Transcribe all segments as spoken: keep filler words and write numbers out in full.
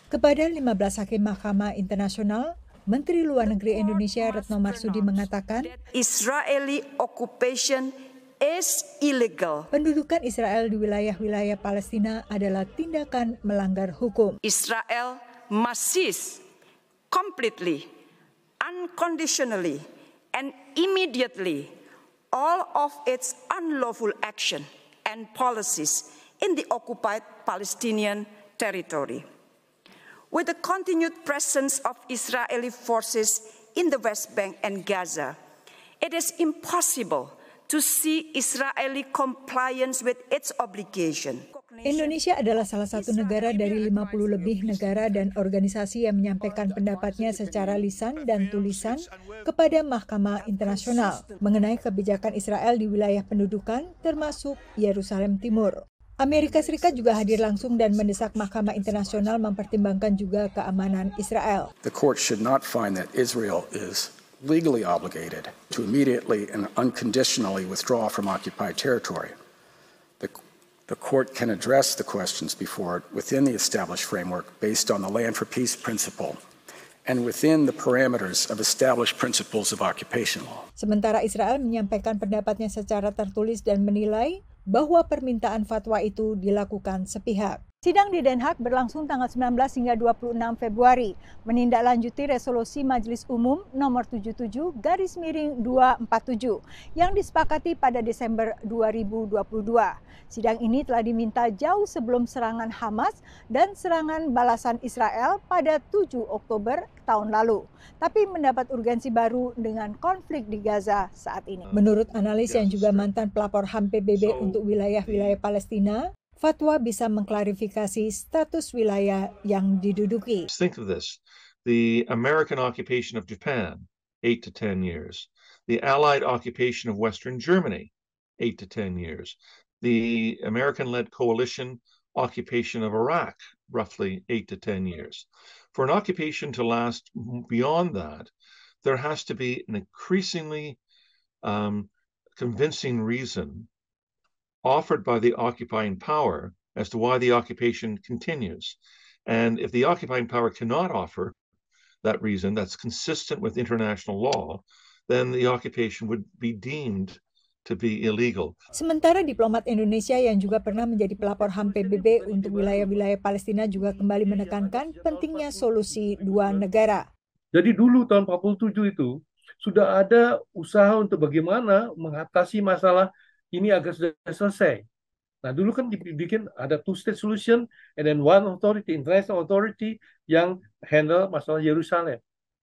Kepada lima belas hakim Mahkamah Internasional, Menteri Luar Negeri Indonesia Retno Marsudi mengatakan, Israeli occupation is illegal. Pendudukan Israel di wilayah-wilayah Palestina adalah tindakan melanggar hukum. Israel must cease completely, unconditionally, and immediately all of its unlawful action and policies in the occupied Palestinian territory. With the continued presence of Israeli forces in the West Bank and Gaza, it is impossible to see Israeli compliance with its obligation. Indonesia adalah salah satu negara dari lima puluh lebih negara dan organisasi yang menyampaikan pendapatnya secara lisan dan tulisan kepada Mahkamah Internasional mengenai kebijakan Israel di wilayah pendudukan termasuk Yerusalem Timur. Amerika Serikat juga hadir langsung dan mendesak Mahkamah Internasional mempertimbangkan juga keamanan Israel. The court should not find that Israel is legally obligated to immediately and unconditionally withdraw from occupied territory. The, the court can address the questions before it within the established framework based on the Land for Peace principle and within the parameters of established principles of occupation law. Sementara Israel menyampaikan pendapatnya secara tertulis dan menilai bahwa permintaan fatwa itu dilakukan sepihak. Sidang di Den Haag berlangsung tanggal sembilan belas hingga dua puluh enam Februari, menindaklanjuti resolusi Majelis Umum nomor tujuh puluh tujuh garis miring dua ratus empat puluh tujuh yang disepakati pada Desember dua ribu dua puluh dua. Sidang ini telah diminta jauh sebelum serangan Hamas dan serangan balasan Israel pada tujuh Oktober tahun lalu, tapi mendapat urgensi baru dengan konflik di Gaza saat ini. Menurut analis yang juga mantan pelapor H A M P B B untuk wilayah-wilayah Palestina, fatwa bisa mengklarifikasi status wilayah yang diduduki. Think of this. The American occupation of Japan, eight to ten years. The Allied occupation of Western Germany, eight to ten years. The American-led coalition occupation of Iraq, roughly eight to ten years. For an occupation to last beyond that, there has to be an increasingly um, convincing reason offered by the occupying power as to why the occupation continues. And if the occupying power cannot offer that reason that's consistent with international law, then the occupation would be deemed to be illegal. Sementara diplomat Indonesia yang juga pernah menjadi pelapor H A M P B B untuk wilayah-wilayah Palestina juga kembali menekankan pentingnya solusi dua negara. Jadi dulu tahun empat puluh tujuh itu sudah ada usaha untuk bagaimana mengatasi masalah ini agar sudah selesai. Nah dulu kan dibikin ada two-state solution and then one authority, international authority yang handle masalah Yerusalem.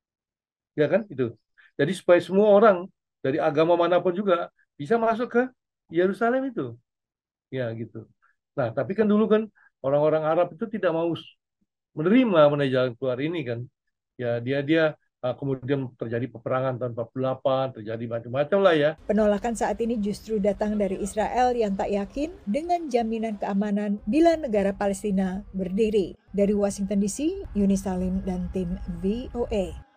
Ya kan itu. Jadi supaya semua orang dari agama manapun juga bisa masuk ke Yerusalem itu. Ya gitu. Nah tapi kan dulu kan orang-orang Arab itu tidak mau menerima mengenai jalan keluar ini kan. Ya dia dia kemudian terjadi peperangan tahun empat puluh delapan, terjadi macam-macam lah ya. Penolakan saat ini justru datang dari Israel yang tak yakin dengan jaminan keamanan bila negara Palestina berdiri. Dari Washington D C, Yuni Salim dan tim V O A.